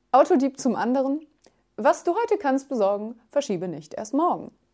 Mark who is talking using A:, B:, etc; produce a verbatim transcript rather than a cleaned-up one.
A: Autodieb zum anderen: Was du heute kannst besorgen, verschiebe nicht erst morgen.